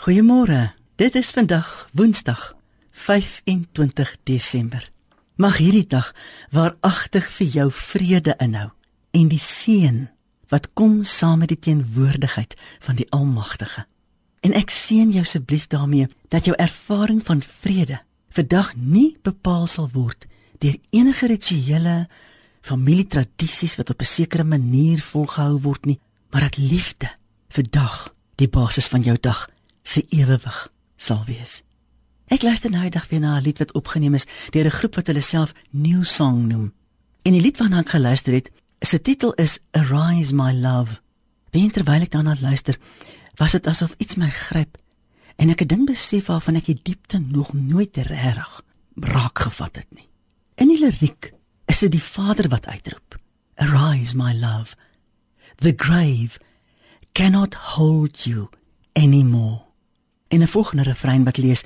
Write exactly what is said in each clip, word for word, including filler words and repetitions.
Goeiemôre, dit is vandag Woensdag, vyf en twintig Desember. Mag hierdie dag waaragtig vir jou vrede inhou en die seën wat kom saam met die teenwoordigheid van die Almagtige. En ek seën jou asseblief daarmee dat jou ervaring van vrede vandag nie bepaal sal word deur enige rituele familietradisies wat op 'n sekere manier volgehou word nie, maar dat liefde vandag die basis van jou dag se ewewig sal wees. Ek luister nou die dag weer na 'n lied wat opgeneem is deur 'n groep wat hulle self New Song noem. En die lied waarna ek geluister het, se titel is Arise My Love. En terwyl ek daarna luister, was dit asof iets my gryp en ek 'n ding besef waarvan ek die diepte nog nooit regtig raak gevat het nie. In die liriek is dit die Vader wat uitroep, Arise my love, the grave cannot hold you anymore. En 'n volgende refrein wat lees,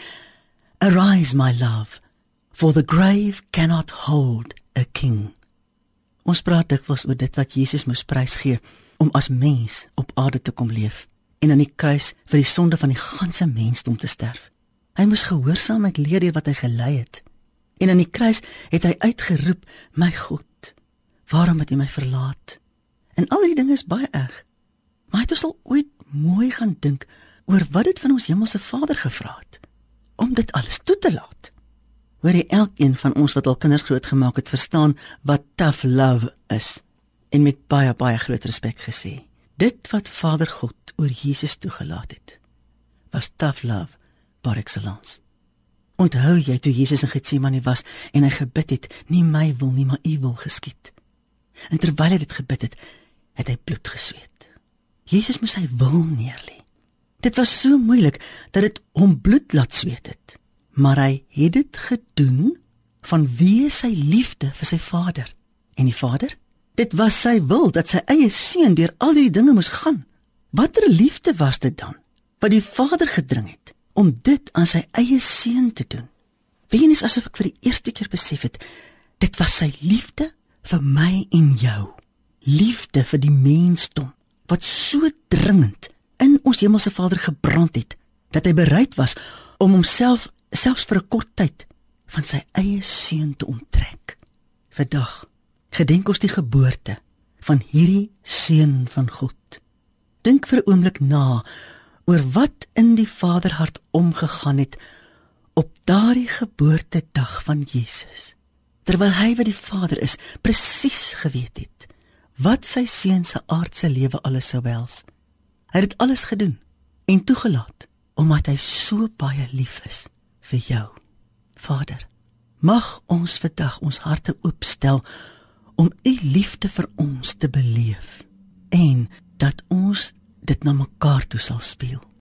Arise my love, for the grave cannot hold a king. Ons praat dikwels oor dit wat Jesus moes prysgee om as mens op aarde te kom leef en aan die kruis vir die sonde van die ganse mensdom te sterf. Hy moes gehoorsaamheid leer deur wat hy gelei het. En aan die kruis het hy uitgeroep, my God, waarom het U my verlaat? En al die dinge is baie erg. Maar het ons al ooit mooi gaan dink oor wat dit van ons hemelse Vader gevra het, om dit alles toe te laat? Hoor jy, elkeen van ons wat al kinders grootgemaak het, verstaan wat tough love is, en met baie, baie groot respek gesê. Dit wat Vader God oor Jesus toegelaat het, was tough love par excellence. Onthou jy toe Jesus in Getsemane was en hy gebid het, nie my wil nie, maar U wil geskied. En terwyl hy dit gebid het, het hy bloed gesweet. Jesus moes sy wil neerlê. Dit was so moeilik dat dit hom bloed laat sweet het, maar hy het dit gedoen vanweë sy liefde vir sy Vader. En die Vader? Dit was sy wil dat sy eie seun deur al die dinge moes gaan. Watter liefde was dit dan, wat die Vader gedring het om dit aan sy eie seun te doen? Weens asof ek vir die eerste keer besef het, dit was sy liefde vir my en jou. Liefde vir die mensdom, wat so dringend in ons hemelse Vader gebrand het, dat hy bereid was om homself, selfs vir 'n kort tyd, van sy eie seun te onttrek. Vandag gedenk ons die geboorte van hierdie seun van God. Dink vir 'n oomblik na oor wat in die Vaderhart omgegaan het op daardie geboortedag van Jesus, terwyl hy wat die Vader is, presies geweet het wat sy seun se aardse lewe alles sou behels. Hy het dit alles gedoen en toegelaat, omdat hy so baie lief is vir jou. Vader, mag ons vandag ons harte oopstel om U liefde vir ons te beleef en dat ons dit na mekaar toe sal speel.